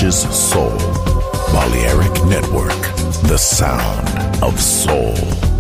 nourishes soul. Balearic Network, the sound of soul.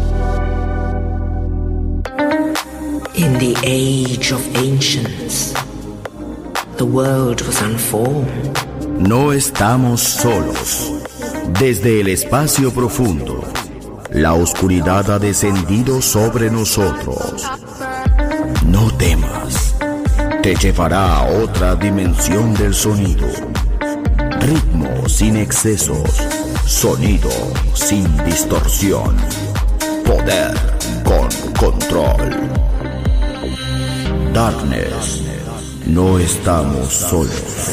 In the age of ancients, the world was unformed. No estamos solos. Desde el espacio profundo, la oscuridad ha descendido sobre nosotros. No temas, te llevará a otra dimensión del sonido. Ritmo sin excesos, sonido sin distorsión, poder con control. Darkness, no estamos solos.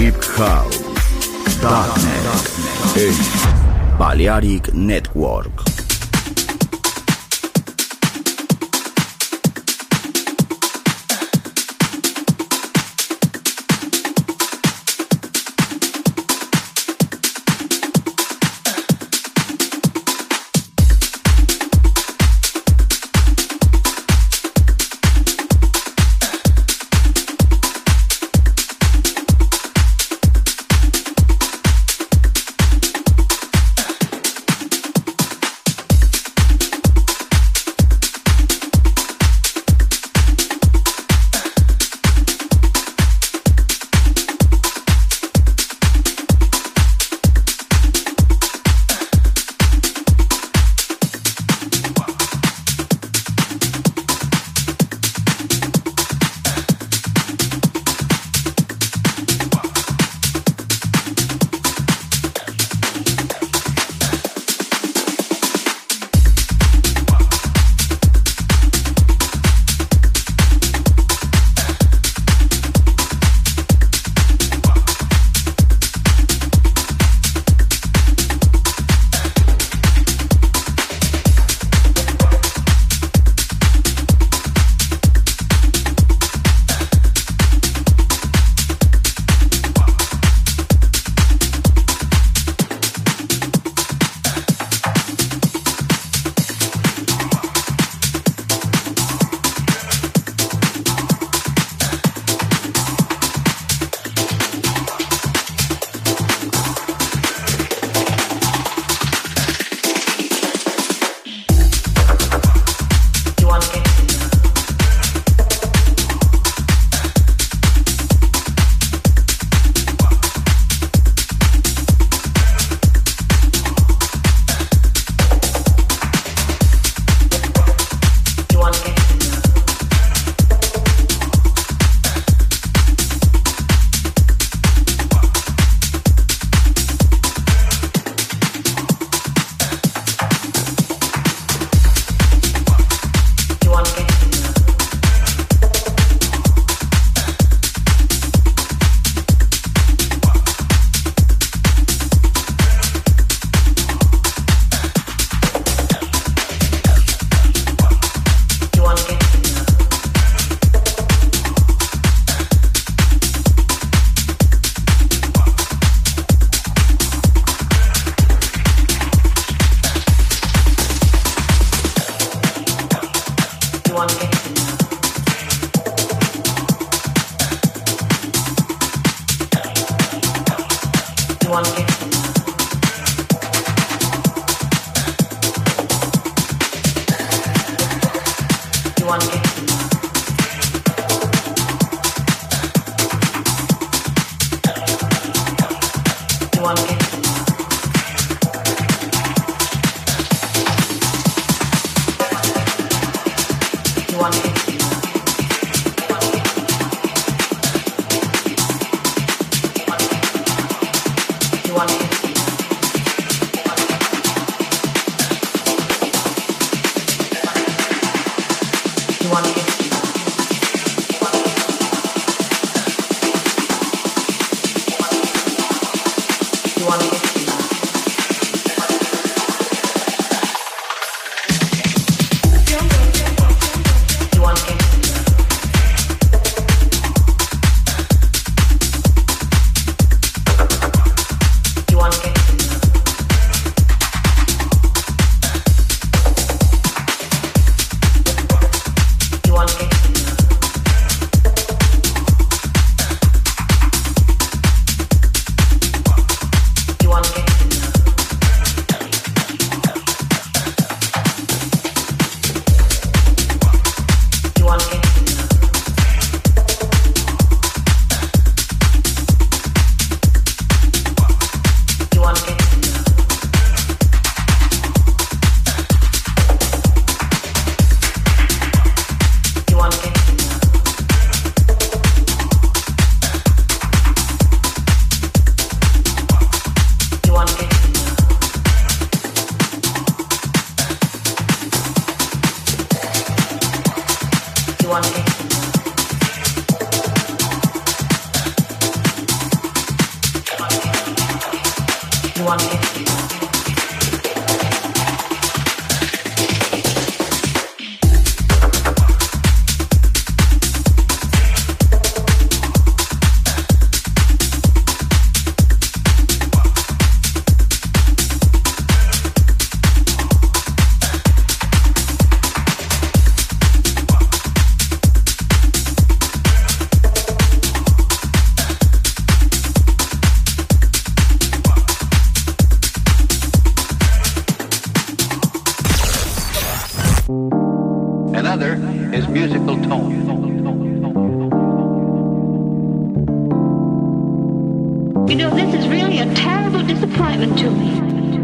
Deep House, Darknet, en Balearic Network. You want to 2150. Another is musical tone. You know, this is really a terrible disappointment to me.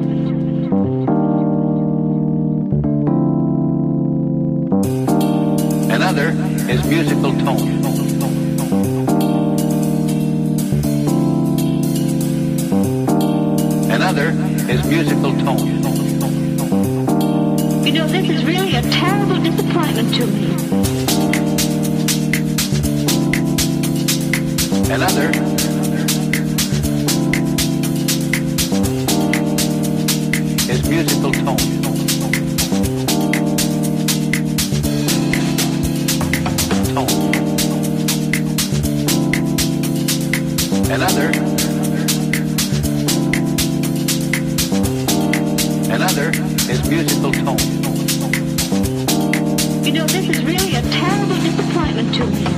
Another is musical tone. Another is musical tone. You know, this is really a terrible disappointment to me. Another is musical tone. Tone. Another is musical tone. You know, this is really a terrible disappointment to me.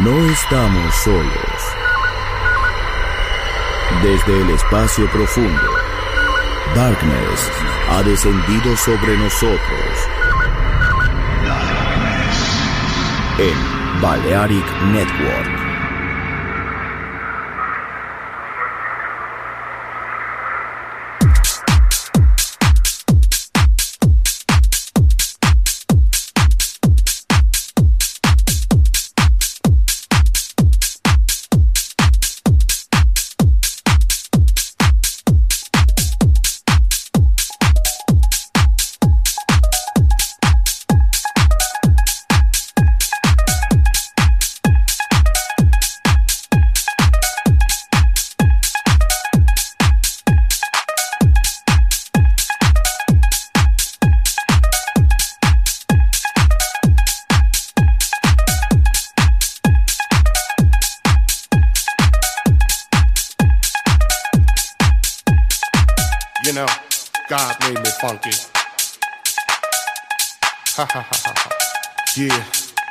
No estamos solos. Desde el espacio profundo, Darkness ha descendido sobre nosotros. En Balearic Network. God made me funky. Ha ha ha ha. Yeah.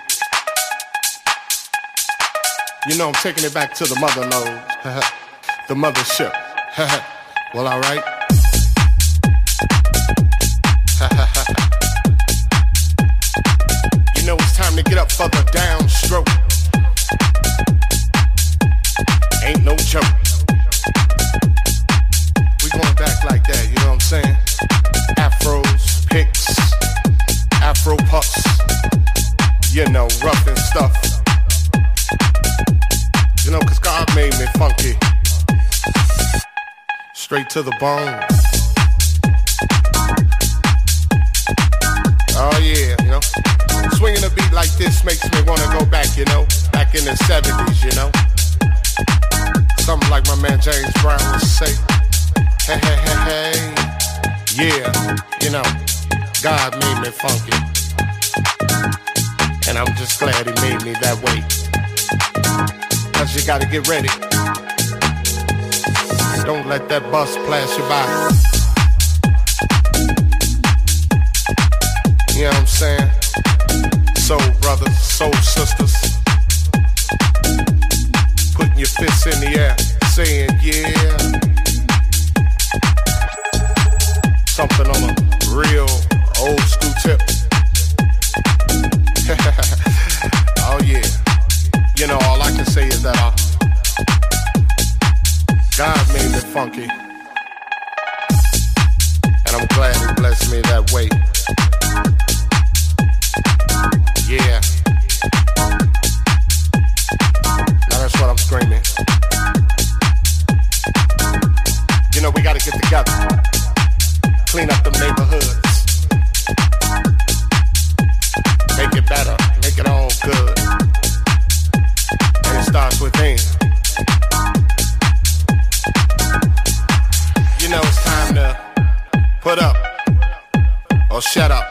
You know I'm taking it back to the mother lode. The mothership. Well, alright. You know it's time to get up for the downstroke. Ain't no joke. Going back like that, you know what I'm saying? Afros, picks, Afro puffs, you know, rough and stuff. You know, cause God made me funky. Straight to the bone. Oh yeah, you know. Swinging a beat like this makes me wanna go back, you know. Back in the 70s, you know. Something like my man James Brown would say. Hey, hey, hey, hey, yeah, you know, God made me funky, and I'm just glad He made me that way, cause you gotta get ready, don't let that bus pass you by, you know what I'm saying, soul brothers, soul sisters, putting your fists in the air, saying yeah. Something on a real old school tip. Oh yeah. You know, all I can say is that God made me funky. And I'm glad He blessed me that way. Yeah. Now that's what I'm screaming. You know, we gotta get together. Clean up them neighborhoods. Make it better. Make it all good. And it starts within. You know it's time to put up or shut up.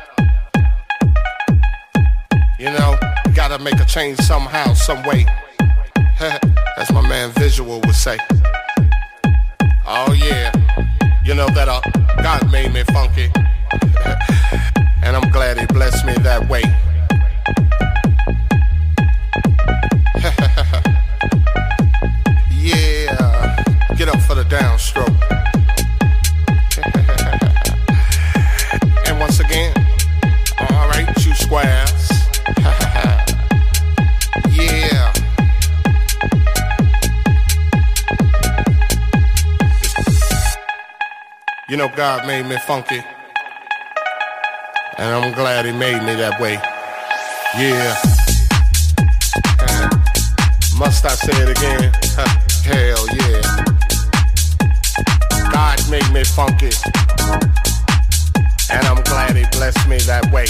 You know, gotta make a change somehow, some way. As my man Visual would say. Oh yeah. You know that God made me funky, and I'm glad He blessed me that way. Yeah, get up for the downstroke. And once again, alright, you squares. Yeah. You know God made me funky, and I'm glad He made me that way. Yeah. Must I say it again? Hell yeah. God made me funky, and I'm glad He blessed me that way.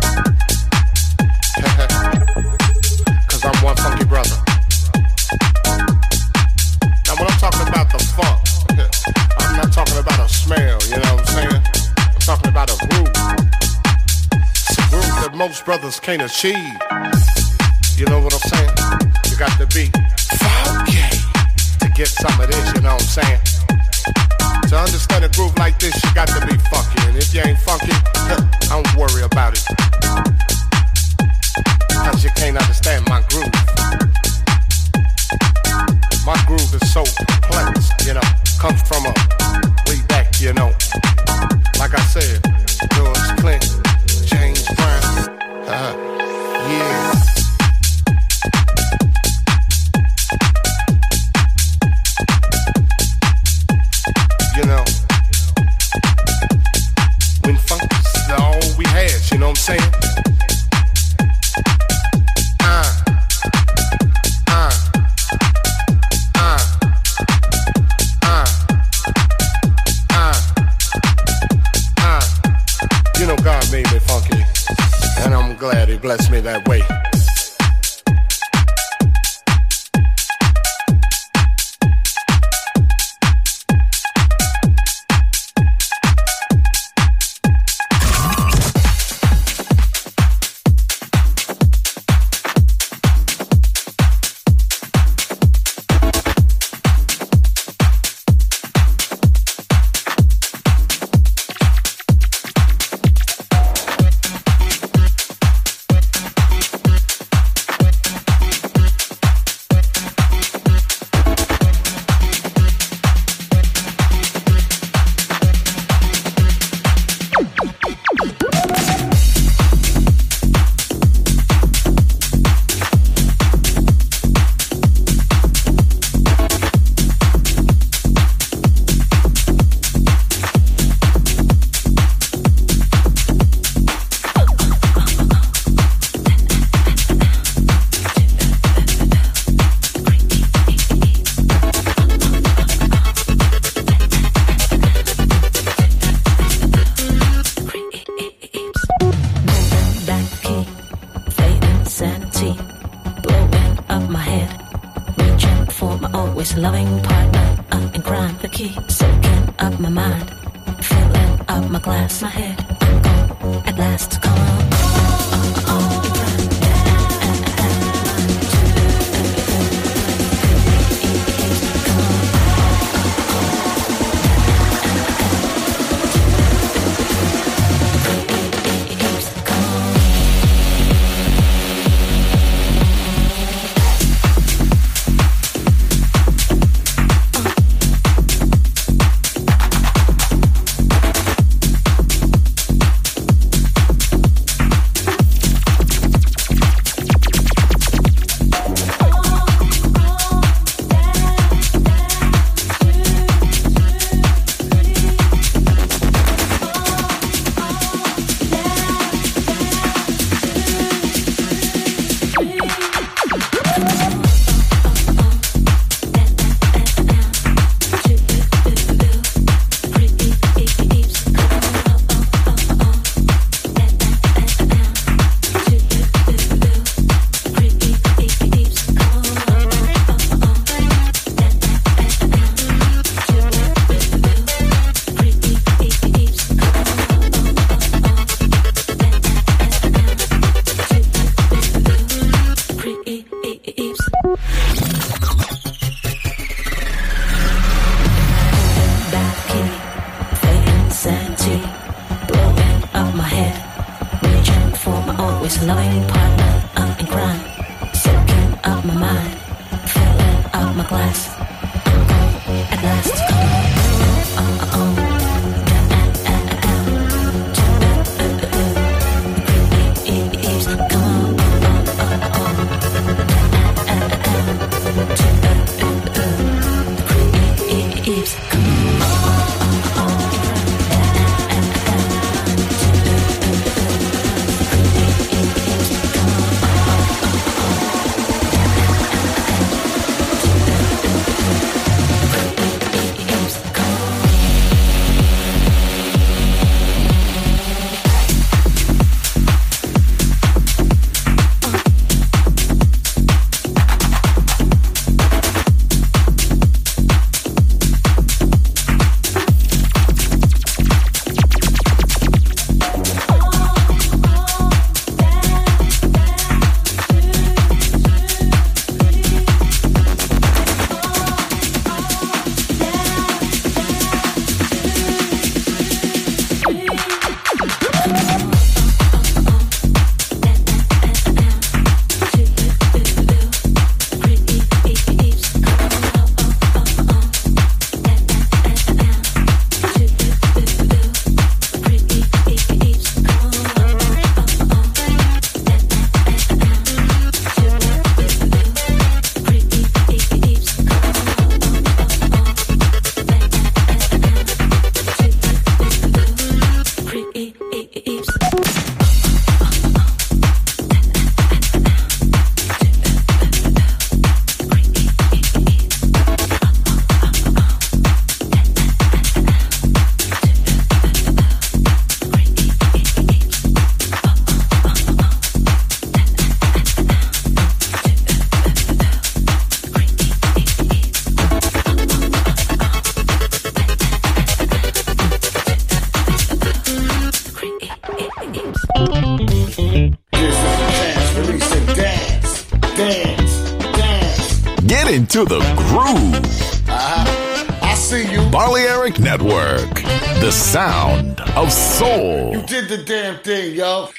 Cause I'm one funky brother. Now when I'm talking about the funk, I'm not talking about a smell, you know what I'm saying? I'm talking about a groove. It's a groove that most brothers can't achieve. You know what I'm saying? You got to be funky to get some of this, you know what I'm saying? To understand a groove like this, you got to be funky. And if you ain't funky, don't worry about it. Cause you can't understand my groove. I'm glad he blessed me that way. Loving partner, I'm in crime, the key, soaking up my mind, filling up my glass, my head, I'm gone, at last, come on. Loving partner, I'm in crime, soaking up my mind, filling up my glass, I'm gone, at last, come on. Get into the groove. I see you. Balearic Network, the sound of soul. You did the damn thing, yo.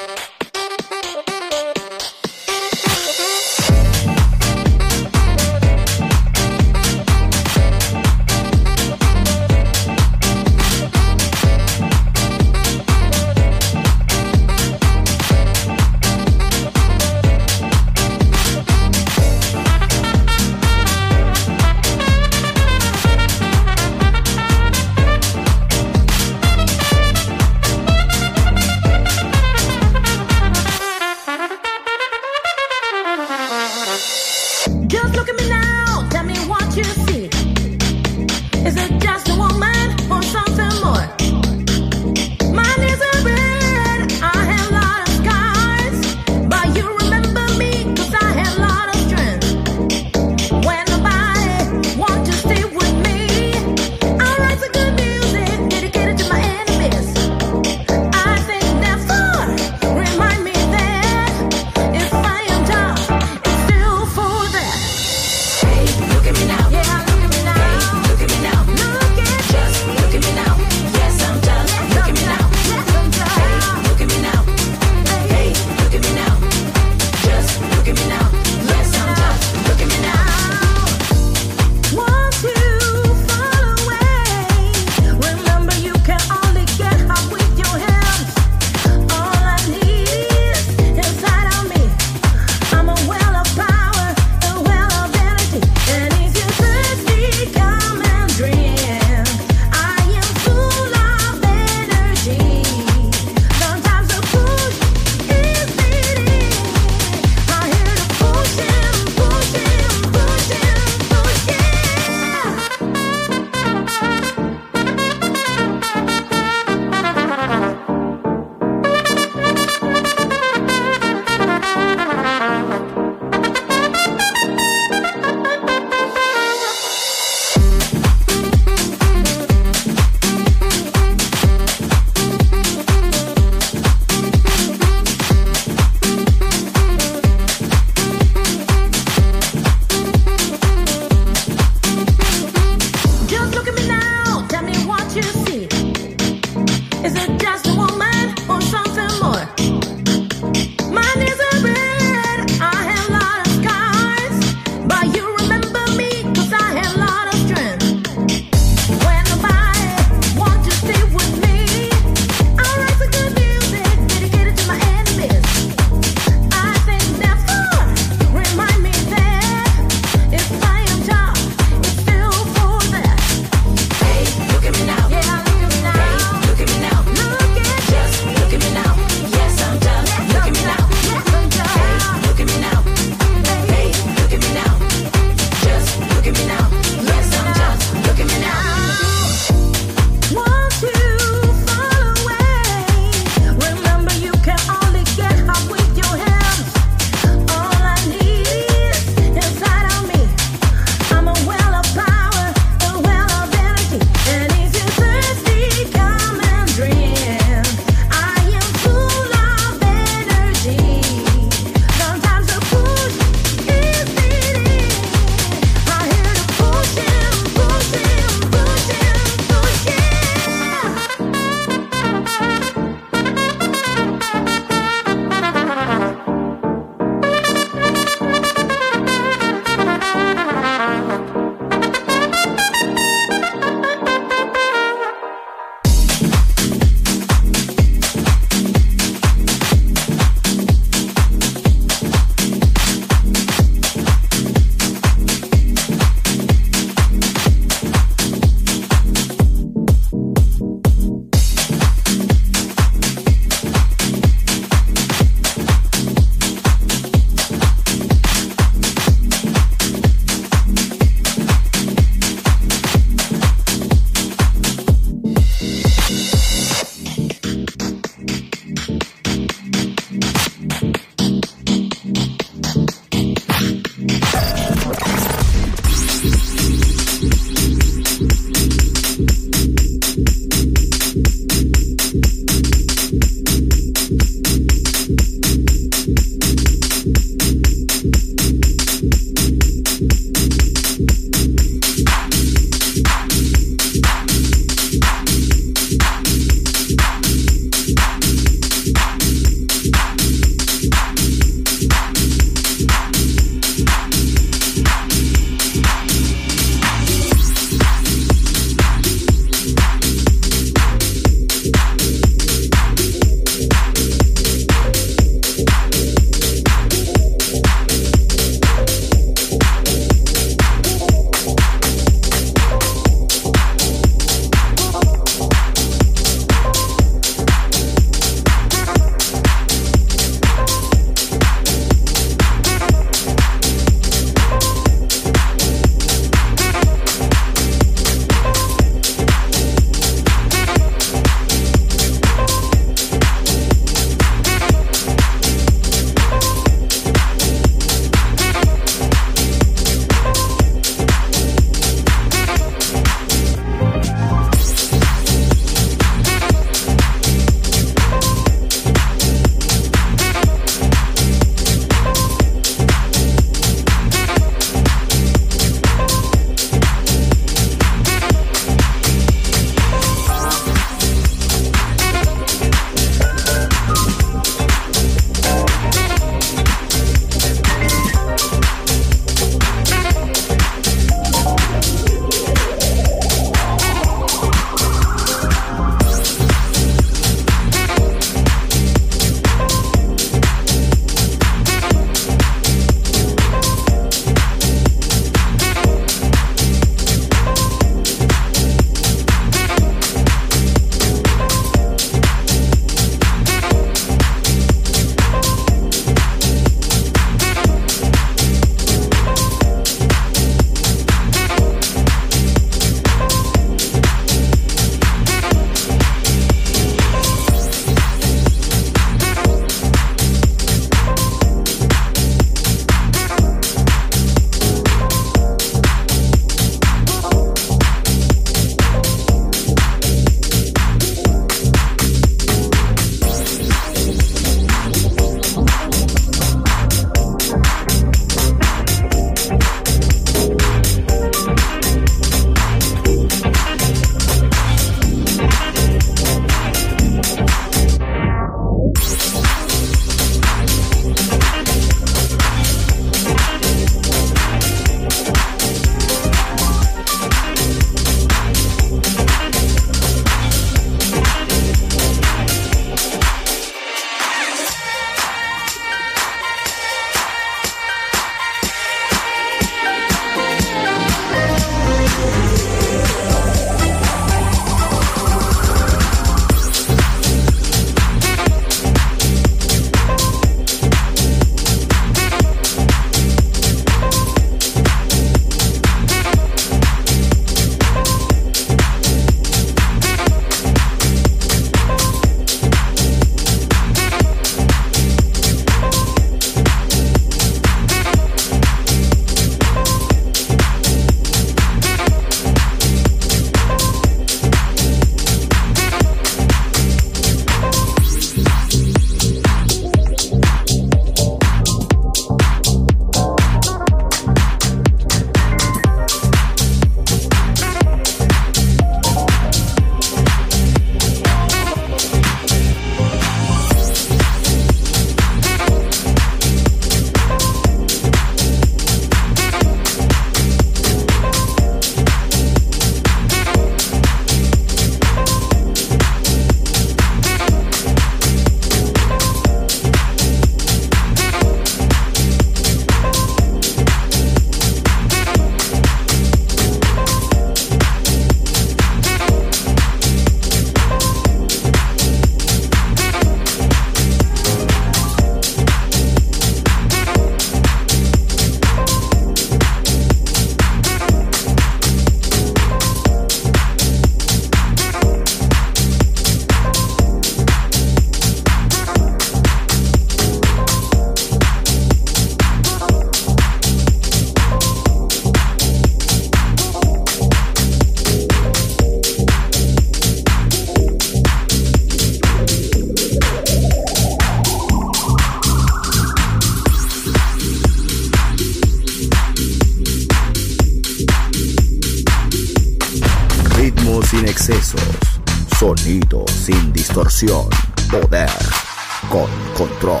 sin excesos, sonido sin distorsión, poder con control.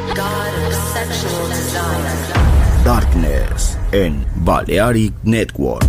Darkness en Balearic Network.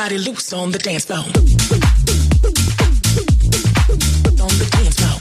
body loose on the dance floor. On the dance floor.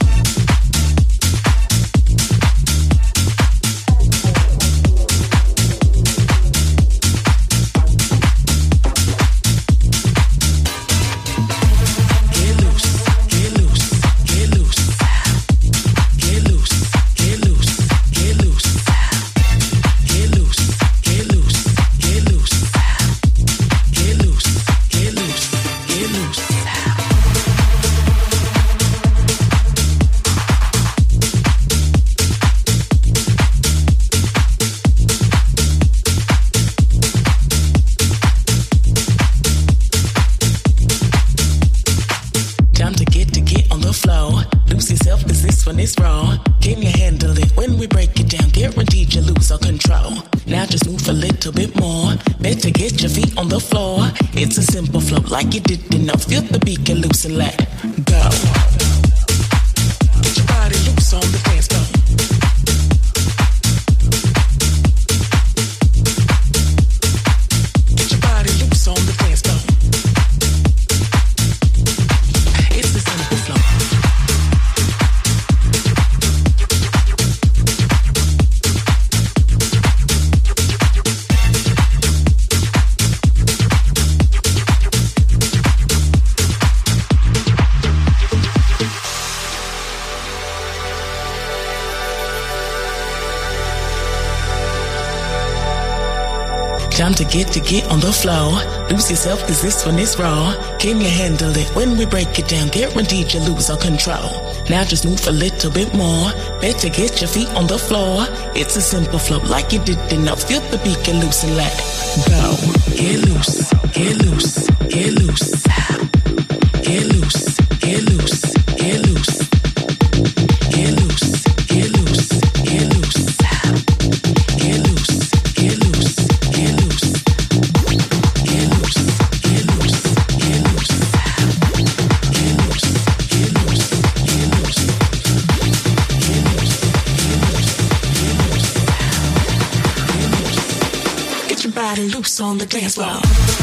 It's a simple flow, like you didn't know. Feel the beat get loose and let go. Get your body loose on the dance floor. Get your body loose on the dance floor. It's a simple flow. Time to get on the floor. Lose yourself, cause this one is raw. Can you handle it when we break it down? Guaranteed you lose all control. Now just move a little bit more. Better get your feet on the floor. It's a simple flow, like you didn't know. Feel the beat get loose and let go. Get loose, get loose, get loose. Get loose, get loose, get loose. Get loose, get loose, get loose. Get loose, get loose, get loose. Get loose, get loose, get loose. Get loose, get loose, get loose. Get loose, get loose, get loose. Get your body loose on the dance floor.